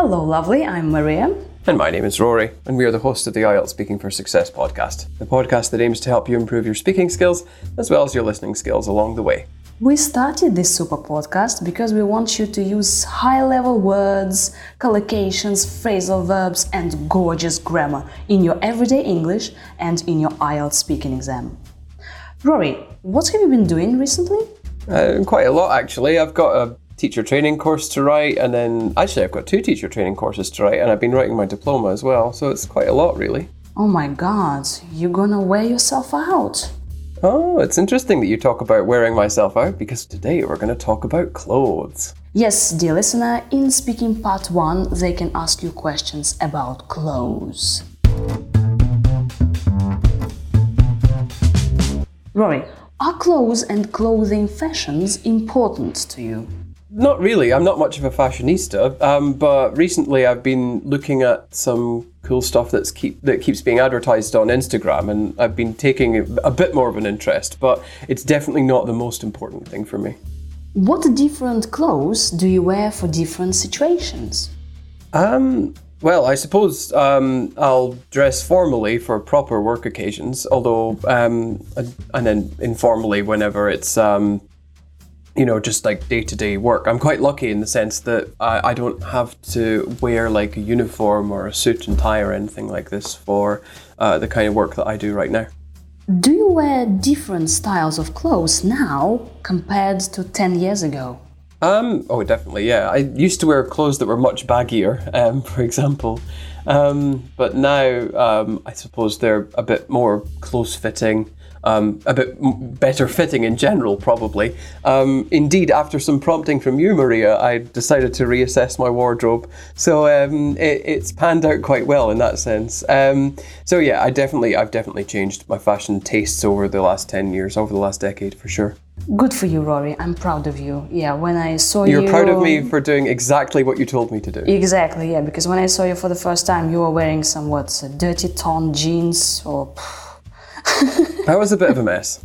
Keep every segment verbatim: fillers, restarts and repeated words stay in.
Hello, lovely. I'm Maria. And my name is Rory, and we are the hosts of the I E L T S Speaking for Success podcast, the podcast that aims to help you improve your speaking skills as well as your listening skills along the way. We started this super podcast because we want you to use high-level words, collocations, phrasal verbs, and gorgeous grammar in your everyday English and in your I E L T S speaking exam. Rory, what have you been doing recently? Uh, quite a lot, actually. I've got a teacher training course to write, and then actually I've got two teacher training courses to write, and I've been writing my diploma as well, so it's quite a lot, really. Oh my god, you're gonna wear yourself out. Oh, it's interesting that you talk about wearing myself out, because today we're going to talk about clothes. Yes, dear listener, in Speaking Part one, they can ask you questions about clothes. Rory, are clothes and clothing fashions important to you? Not really. I'm not much of a fashionista, um, but recently I've been looking at some cool stuff that's keep that keeps being advertised on Instagram, and I've been taking a bit more of an interest, but it's definitely not the most important thing for me. What different clothes do you wear for different situations? Um, well, I suppose um, I'll dress formally for proper work occasions, although, um, and then informally whenever it's um, you know, just like day-to-day work. I'm quite lucky in the sense that I, I don't have to wear like a uniform or a suit and tie or anything like this for uh, the kind of work that I do right now. Do you wear different styles of clothes now compared to ten years ago? Um, oh, definitely, yeah. I used to wear clothes that were much baggier, um, for example. Um, but now, um, I suppose they're a bit more close-fitting. Um, a bit better fitting in general, probably. Um, indeed, after some prompting from you, Maria, I decided to reassess my wardrobe. So um, it, it's panned out quite well in that sense. Um, so yeah, I definitely, I've definitely changed my fashion tastes over the last ten years, over the last decade, for sure. Good for you, Rory. I'm proud of you. Yeah, when I saw you... You're proud of me for doing exactly what you told me to do. Exactly, yeah, because when I saw you for the first time, you were wearing some, what, dirty torn jeans or... That was a bit of a mess.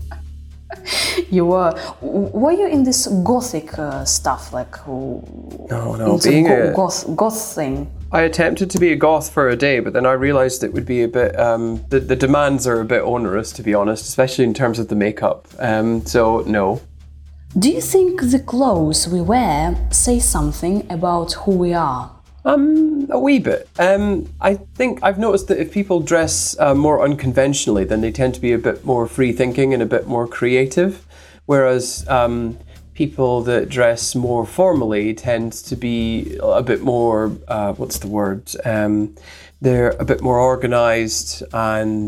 You were. Were you in this gothic uh, stuff, like? No, no. Being go- a goth, goth thing. I attempted to be a goth for a day, but then I realised it would be a bit. Um, the the demands are a bit onerous, to be honest, especially in terms of the makeup. Um, so no. Do you think the clothes we wear say something about who we are? Um, a wee bit. Um, I think I've noticed that if people dress uh, more unconventionally, then they tend to be a bit more free-thinking and a bit more creative, whereas um, people that dress more formally tend to be a bit more, uh, what's the word? Um, they're a bit more organised and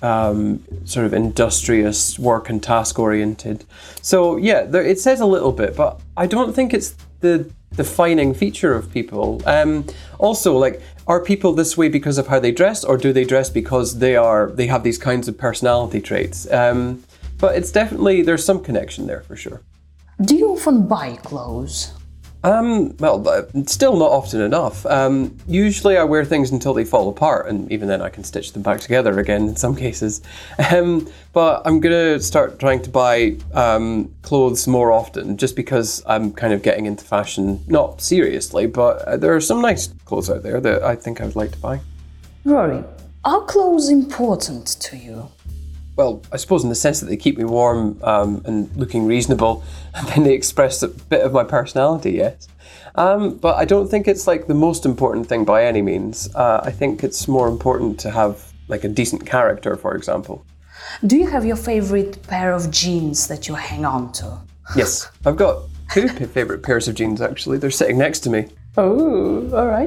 um, sort of industrious, work and task-oriented. So yeah, there, it says a little bit, but I don't think it's the defining feature of people. Um, also, like, are people this way because of how they dress, or do they dress because they are they have these kinds of personality traits? Um, but it's definitely, there's some connection there for sure. Do you often buy clothes? Um, well, uh, still not often enough. Um, usually I wear things until they fall apart, and even then I can stitch them back together again in some cases. Um, but I'm going to start trying to buy um, clothes more often, just because I'm kind of getting into fashion, not seriously, but uh, there are some nice clothes out there that I think I would like to buy. Rory, are clothes important to you? Well, I suppose in the sense that they keep me warm um, and looking reasonable, and then they express a bit of my personality, yes. Um, but I don't think it's like the most important thing by any means. Uh, I think it's more important to have like a decent character, for example. Do you have your favorite pair of jeans that you hang on to? Yes, I've got two favorite pairs of jeans actually. They're sitting next to me. Oh, all right.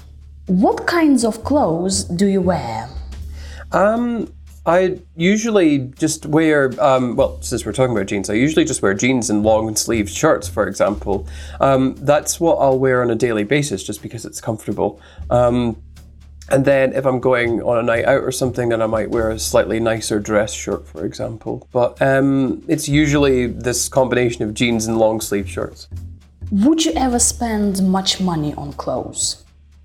What kinds of clothes do you wear? Um... I usually just wear, um, well, since we're talking about jeans, I usually just wear jeans and long-sleeved shirts, for example. Um, that's what I'll wear on a daily basis, just because it's comfortable. Um, and then if I'm going on a night out or something, then I might wear a slightly nicer dress shirt, for example. But um, it's usually this combination of jeans and long-sleeved shirts. Would you ever spend much money on clothes?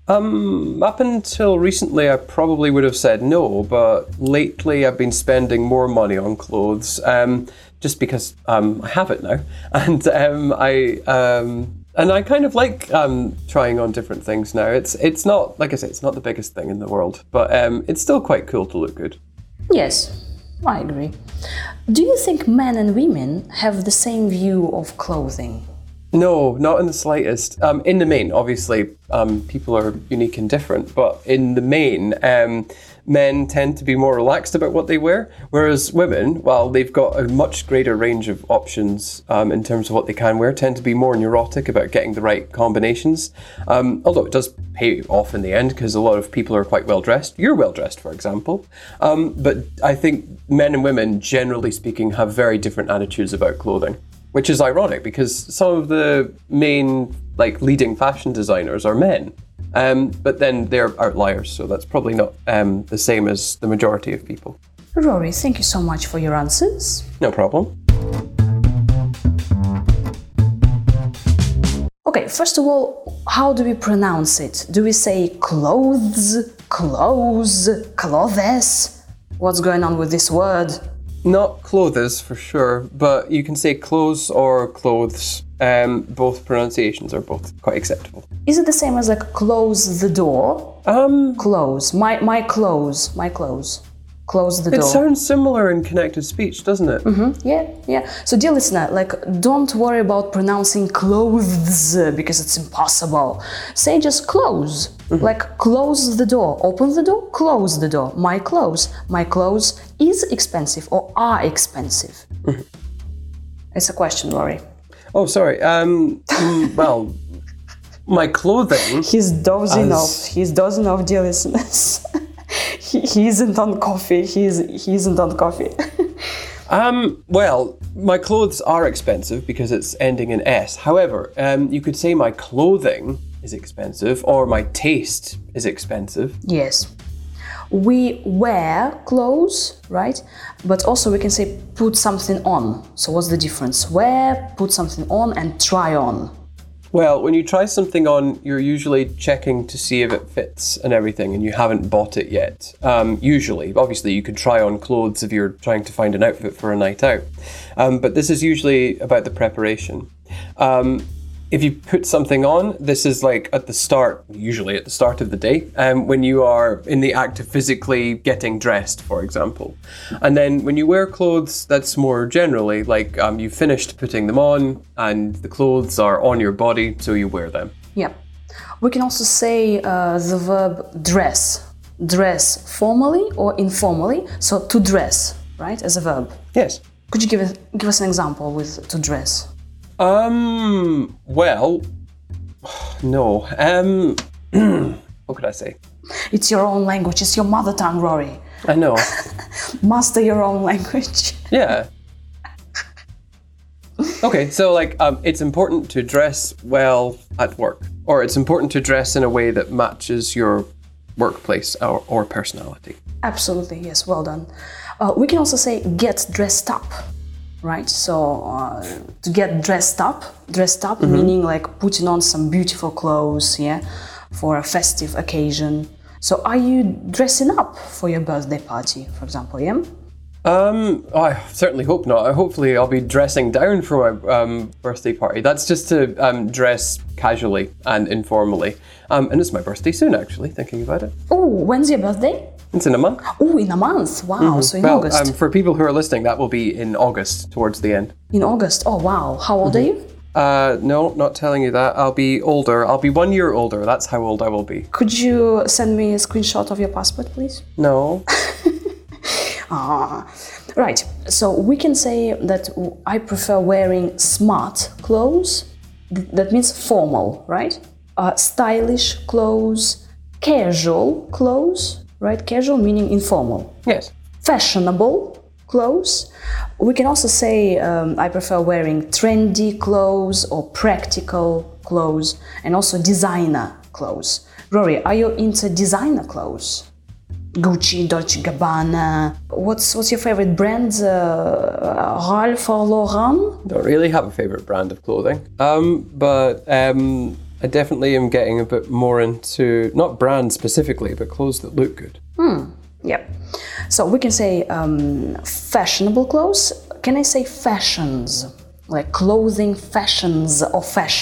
Um, up until recently, I probably would have said no, but lately I've been spending more money on clothes, um, just because um, I have it now. And um, I, um, And I kind of like um, trying on different things now. It's it's not, like I say, it's not the biggest thing in the world, but um, it's still quite cool to look good. Yes, I agree. Do you think men and women have the same view of clothing? No, not in the slightest. Um, in the main, obviously, um, people are unique and different, but in the main, um, men tend to be more relaxed about what they wear, whereas women, while they've got a much greater range of options um, in terms of what they can wear, tend to be more neurotic about getting the right combinations. Um, although it does pay off in the end, because a lot of people are quite well dressed. You're well dressed, for example. Um, but I think men and women, generally speaking, have very different attitudes about clothing. Which is ironic because some of the main, like, leading fashion designers are men. Um, but then they're outliers, so that's probably not um, the same as the majority of people. Rory, thank you so much for your answers. No problem. Okay, first of all, how do we pronounce it? Do we say clothes, clothes, clothes? What's going on with this word? Not clothes for sure, but you can say clothes or clothes. Um, both pronunciations are both quite acceptable. Is it the same as like close the door? Um, Close. My my clothes. My clothes. Close the it door. sounds similar in connected speech, doesn't it? Mm-hmm. Yeah, yeah. So, dear listener, like, don't worry about pronouncing clothes because it's impossible. Say just close. Mm-hmm. Like, close the door. Open the door, close the door. My clothes. My clothes is expensive or are expensive. Mm-hmm. It's a question, Rory. Oh, sorry. Um, mm, well, my clothing. He's dozing as... off. He's dozing off, dear listeners. he, he isn't on coffee. He's he isn't on coffee. um. Well, my clothes are expensive because it's ending in S. However, um, you could say my clothing is expensive or my taste is expensive. Yes. We wear clothes, right? But also we can say put something on. So what's the difference? Wear, put something on, and try on. Well, when you try something on, you're usually checking to see if it fits and everything, and you haven't bought it yet. Um, usually, obviously, you could try on clothes if you're trying to find an outfit for a night out. Um, but this is usually about the preparation. Um, If you put something on, this is like at the start, usually at the start of the day, um, when you are in the act of physically getting dressed, for example. And then when you wear clothes, that's more generally like um, you finished putting them on and the clothes are on your body, so you wear them. Yeah. We can also say uh, the verb dress. Dress formally or informally. So to dress, right, as a verb. Yes. Could you give, us, give us an example with to dress? Um, well, no. Um, what could I say? It's your own language. It's your mother tongue, Rory. I know. Master your own language. Yeah. Okay, so like, um, it's important to dress well at work, or it's important to dress in a way that matches your workplace or, or personality. Absolutely, yes, well done. Uh, we can also say get dressed up. Right, so uh, to get dressed up, dressed up mm-hmm. meaning like putting on some beautiful clothes, yeah, for a festive occasion. So are you dressing up for your birthday party, for example, yeah? Um, oh, I certainly hope not. Hopefully I'll be dressing down for my um, birthday party. That's just to um, dress casually and informally. Um, and it's my birthday soon, actually, thinking about it. Oh, when's your birthday? It's in a month. Oh, in a month. Wow, mm-hmm. So in well, August. Um, for people who are listening, that will be in August, towards the end. In August? Oh, wow. How old mm-hmm. are you? Uh, no, not telling you that. I'll be older. I'll be one year older. That's how old I will be. Could you send me a screenshot of your passport, please? No. ah, right. So we can say that I prefer wearing smart clothes. That means formal, right? Uh, stylish clothes, casual clothes. Right, casual meaning informal. Yes. Fashionable clothes. We can also say um, I prefer wearing trendy clothes or practical clothes, and also designer clothes. Rory, are you into designer clothes? Gucci, Dolce and Gabbana. What's what's your favorite brand? Uh, Ralph or Lauren? Don't really have a favorite brand of clothing. Um, but um. I definitely am getting a bit more into, not brands specifically, but clothes that look good. Hmm, yep. So we can say um, fashionable clothes. Can I say fashions? Like clothing fashions or fashion?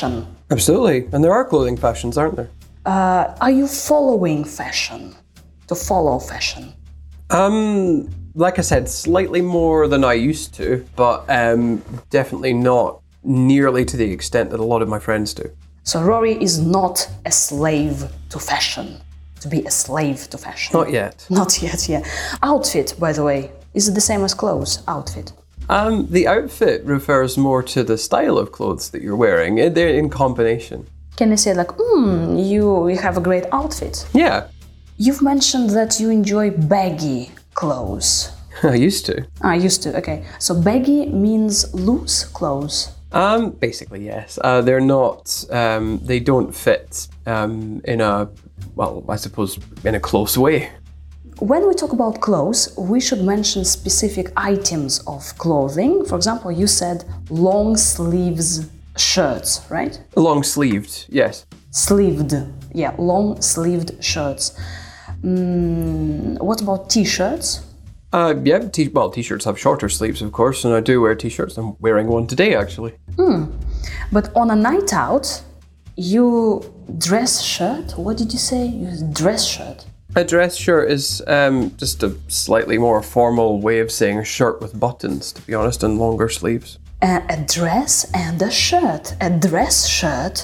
Absolutely. And there are clothing fashions, aren't there? Uh, are you following fashion? To follow fashion? Um, like I said, slightly more than I used to, but um, definitely not nearly to the extent that a lot of my friends do. So Rory is not a slave to fashion. To be a slave to fashion. Not yet. Not yet, yeah. Outfit, by the way, is it the same as clothes? Outfit. Um, the outfit refers more to the style of clothes that you're wearing. They're in combination. Can you say like, hmm, you, you have a great outfit? Yeah. You've mentioned that you enjoy baggy clothes. I used to. Ah, used to, okay. So baggy means loose clothes. Um, basically, yes. Uh, they're not, um, they don't fit um, in a, well, I suppose, in a close way. When we talk about clothes, we should mention specific items of clothing. For example, you said long sleeves shirts, right? Long sleeved, yes. Sleeved, yeah, long sleeved shirts. Mm, what about t-shirts? Uh, yeah, t- well, t-shirts have shorter sleeves, of course, and I do wear t-shirts. I'm wearing one today, actually. Mm. But on a night out, you dress shirt? What did you say? You dress shirt? A dress shirt is um, just a slightly more formal way of saying a shirt with buttons, to be honest, and longer sleeves. Uh, a dress and a shirt. A dress shirt.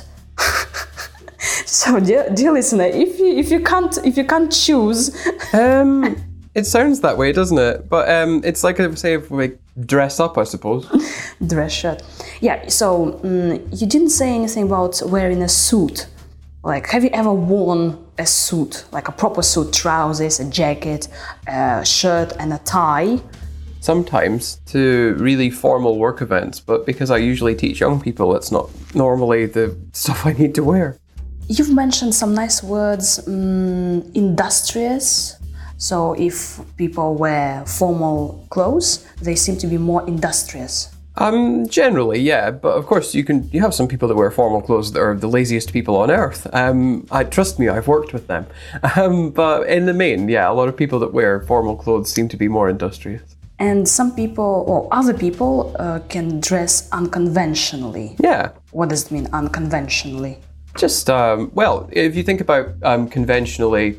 So, dear, dear listener, if you if you can't if you can't choose, um, it sounds that way, doesn't it? But um, it's like a say if we dress up, I suppose. Dress shirt. Yeah. So um, you didn't say anything about wearing a suit. Like, have you ever worn a suit, like a proper suit, trousers, a jacket, a shirt, and a tie? Sometimes to really formal work events, but because I usually teach young people, it's not normally the stuff I need to wear. You've mentioned some nice words, um, industrious. So if people wear formal clothes, they seem to be more industrious. Um, generally, yeah, but of course you can. You have some people that wear formal clothes that are the laziest people on earth. Um, I trust me, I've worked with them. Um, but in the main, yeah, a lot of people that wear formal clothes seem to be more industrious. And some people, or other people, uh, can dress unconventionally. Yeah. What does it mean, unconventionally? Just, um, well, if you think about um, conventionally,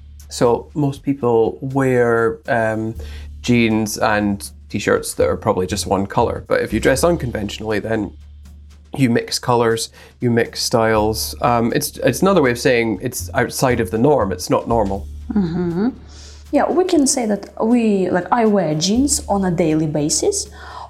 so most people wear um, jeans and t-shirts that are probably just one color. But if you dress unconventionally, then you mix colors, you mix styles. Um, it's it's another way of saying it's outside of the norm. It's not normal. Mm-hmm. Yeah, we can say that we, like, I wear jeans on a daily basis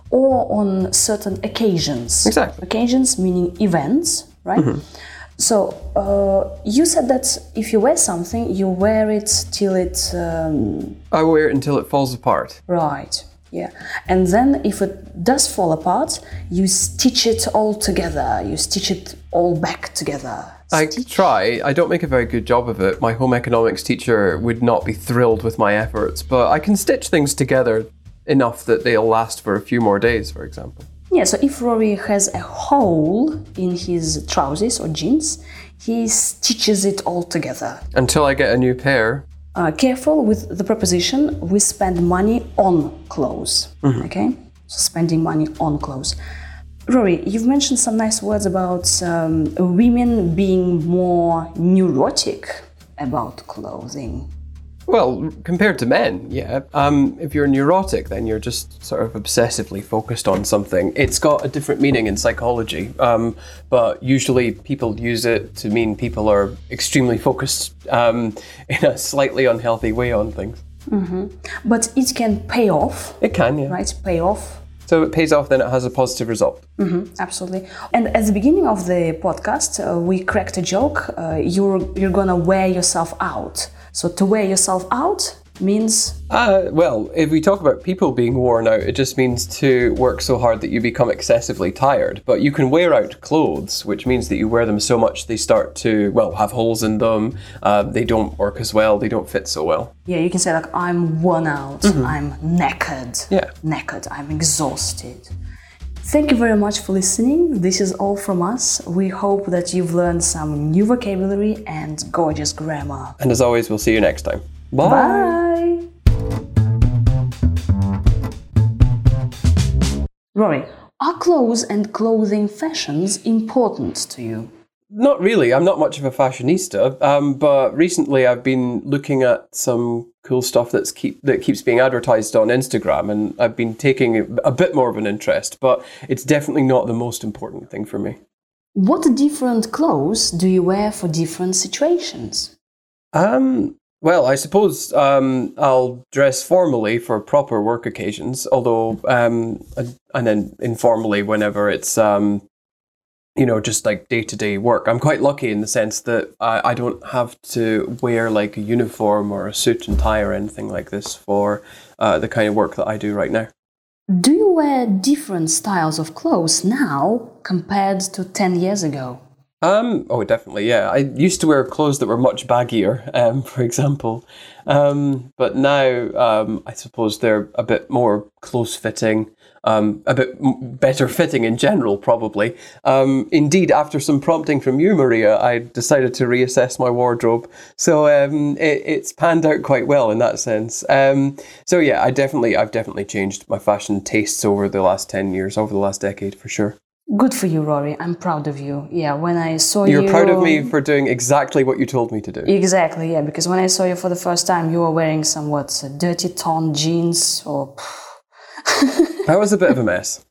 or on certain occasions. Exactly. Occasions meaning events, right? Mm-hmm. So uh, you said that if you wear something, you wear it till it... Um... I wear it until it falls apart. Right, yeah. And then if it does fall apart, you stitch it all together. You stitch it all back together. Stitch. I try. I don't make a very good job of it. My home economics teacher would not be thrilled with my efforts, but I can stitch things together enough that they'll last for a few more days, for example. Yeah, so if Rory has a hole in his trousers or jeans, he stitches it all together. Until I get a new pair. Uh, careful with the preposition, we spend money on clothes, mm-hmm. okay? So spending money on clothes. Rory, you've mentioned some nice words about um, women being more neurotic about clothing. Well, compared to men, yeah. Um, if you're neurotic, then you're just sort of obsessively focused on something. It's got a different meaning in psychology, um, but usually people use it to mean people are extremely focused um, in a slightly unhealthy way on things. Mm-hmm. But it can pay off. It can, yeah. Right, pay off. So it pays off, then it has a positive result. Mm-hmm, absolutely. And at the beginning of the podcast, uh, we cracked a joke. Uh, you're you're gonna wear yourself out. So to wear yourself out means? Uh, well, if we talk about people being worn out, it just means to work so hard that you become excessively tired. But you can wear out clothes, which means that you wear them so much they start to, well, have holes in them. Uh, they don't work as well. They don't fit so well. Yeah, you can say like, I'm worn out. Mm-hmm. I'm knackered. Yeah. Knackered. I'm exhausted. Thank you very much for listening. This is all from us. We hope that you've learned some new vocabulary and gorgeous grammar. And as always, we'll see you next time. Bye. Bye. Rory, are clothes and clothing fashions important to you? not really. I'm not much of a fashionista, um, but recently I've been looking at some cool stuff that's keep that keeps being advertised on Instagram, and I've been taking a bit more of an interest. But it's definitely not the most important thing for me. What different clothes do you wear for different situations? Um. Well, I suppose um, I'll dress formally for proper work occasions, although um, and then informally whenever it's um. you know, just like day-to-day work. I'm quite lucky in the sense that I, I don't have to wear like a uniform or a suit and tie or anything like this for uh, the kind of work that I do right now. Do you wear different styles of clothes now compared to ten years ago? Um, oh, definitely, yeah. I used to wear clothes that were much baggier, um, for example. Um, but now um, I suppose they're a bit more close-fitting, um, a bit m- better fitting in general, probably. Um, indeed, after some prompting from you, Maria, I decided to reassess my wardrobe. So um, it, it's panned out quite well in that sense. Um, so yeah, I definitely, I've definitely changed my fashion tastes over the last ten years, over the last decade, for sure. Good for you, Rory. I'm proud of you. Yeah, when I saw you... You're proud of me for doing exactly what you told me to do. Exactly, yeah, because when I saw you for the first time, you were wearing some, what, dirty torn jeans or... That was a bit of a mess.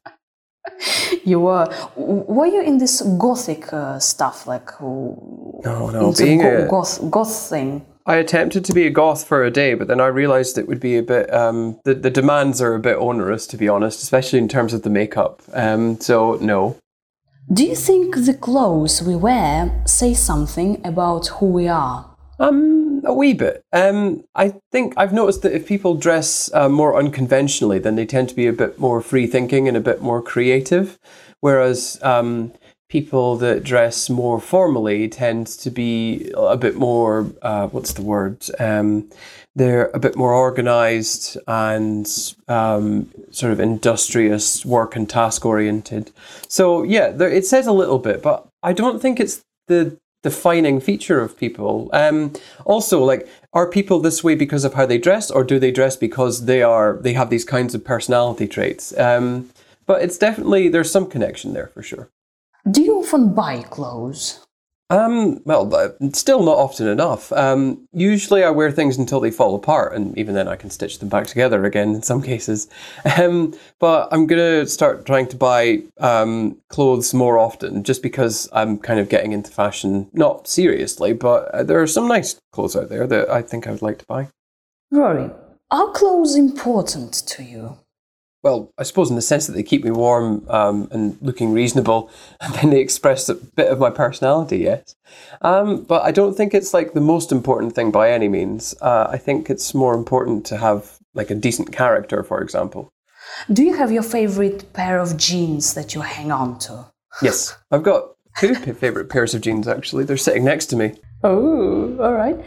You were... Were you in this gothic uh, stuff, like... No, no, being go- a... Goth, goth thing? I attempted to be a goth for a day, but then I realised it would be a bit, um, the, the demands are a bit onerous, to be honest, especially in terms of the makeup. Um, so, no. Do you think the clothes we wear say something about who we are? Um, a wee bit. Um, I think I've noticed that if people dress uh, more unconventionally, then they tend to be a bit more free-thinking and a bit more creative, whereas... Um, people that dress more formally tend to be a bit more, uh, what's the word? Um, they're a bit more organized and um, sort of industrious, work and task oriented. So yeah, there, it says a little bit, but I don't think it's the defining feature of people. Um, also, like, are people this way because of how they dress, or do they dress because they are they have these kinds of personality traits? Um, but it's definitely, there's some connection there for sure. Do you often buy clothes? Um, well, uh, still not often enough. Um, usually I wear things until they fall apart, and even then I can stitch them back together again in some cases. Um, but I'm going to start trying to buy um, clothes more often, just because I'm kind of getting into fashion, not seriously, but uh, there are some nice clothes out there that I think I would like to buy. Rory, are clothes important to you? Well, I suppose in the sense that they keep me warm um, and looking reasonable, and then they express a bit of my personality, yes. Um, but I don't think it's like the most important thing by any means. Uh, I think it's more important to have like a decent character, for example. Do you have your favorite pair of jeans that you hang on to? Yes, I've got two favorite pairs of jeans, actually. They're sitting next to me. Oh, all right.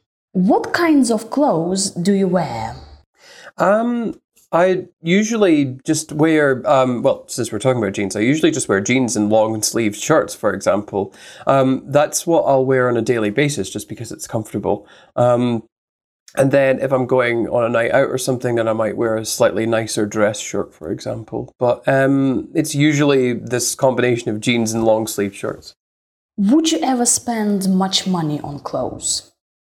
What kinds of clothes do you wear? Um... I usually just wear, um, well, since we're talking about jeans, I usually just wear jeans and long-sleeved shirts, for example. Um, that's what I'll wear on a daily basis, just because it's comfortable. Um, and then if I'm going on a night out or something, then I might wear a slightly nicer dress shirt, for example. But um, it's usually this combination of jeans and long-sleeved shirts. Would you ever spend much money on clothes?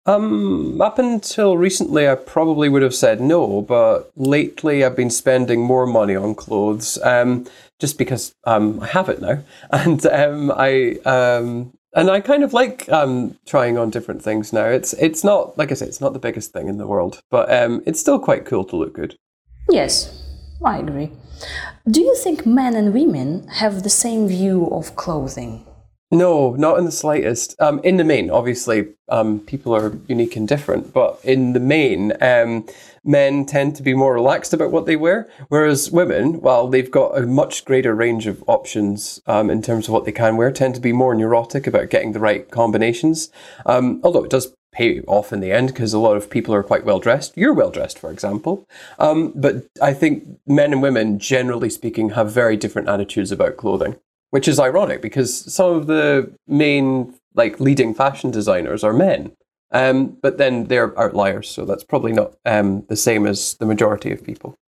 Um, up until recently, I probably would have said no, but lately I've been spending more money on clothes, um, just because um, I have it now, and um, I um, and I kind of like um, trying on different things now. It's it's not, like I say, it's not the biggest thing in the world, but um, it's still quite cool to look good. Yes, I agree. Do you think men and women have the same view of clothing? No, not in the slightest. Um, in the main, obviously, um, people are unique and different, but in the main, um, men tend to be more relaxed about what they wear, whereas women, while they've got a much greater range of options um, in terms of what they can wear, tend to be more neurotic about getting the right combinations. Um, although it does pay off in the end, because a lot of people are quite well dressed. You're well dressed, for example. Um, but I think men and women, generally speaking, have very different attitudes about clothing. Which is ironic because some of the main, like, leading fashion designers are men. Um, but then they're outliers, so that's probably not um, the same as the majority of people.